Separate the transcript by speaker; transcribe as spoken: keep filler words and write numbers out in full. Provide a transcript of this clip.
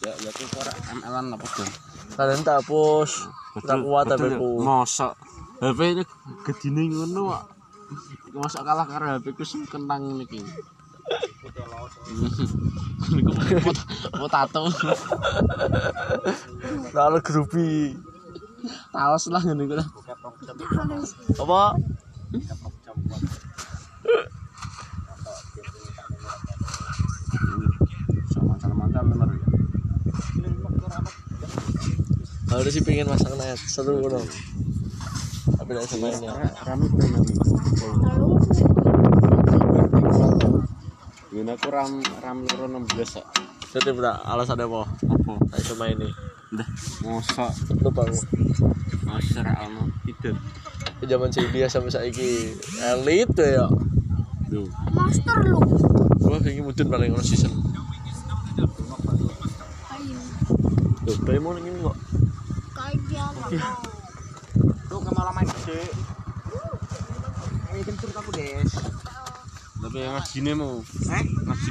Speaker 1: ya ya ku ora M L-an apa tuh.
Speaker 2: Kalian tak hapus. Tak kuat H P-ku.
Speaker 1: Mosok H P ini gedine ngono kok. Iku mosok kalah karo H P-ku sing kentang ngene iki. Niku potato.
Speaker 2: Lalu grupi.
Speaker 1: Taos lah ngene iku.
Speaker 2: Apa?
Speaker 1: Sama-sama bener ya.
Speaker 2: Harus sih pengen masang net seru loh. Tapi tidak semainnya.
Speaker 1: Rame bener. Guna aku ram ram loro enam belas kok.
Speaker 2: Jadi berak alasannya apa?
Speaker 1: Apa?
Speaker 2: Saya cuma ini.
Speaker 1: Udah, mosok
Speaker 2: Lupa aku.
Speaker 1: masyar alno tidur.
Speaker 2: Zaman C D sampai saiki elit ya.
Speaker 1: Duh.
Speaker 3: Master lu.
Speaker 2: Wah, ini mudun paling ono season. Tuh, Doraemon ini kok.
Speaker 3: Kayak dia mau.
Speaker 1: Lu kemalah main gede. Ini kencur aku, Des. Tapi yang ngajine mau. Eh,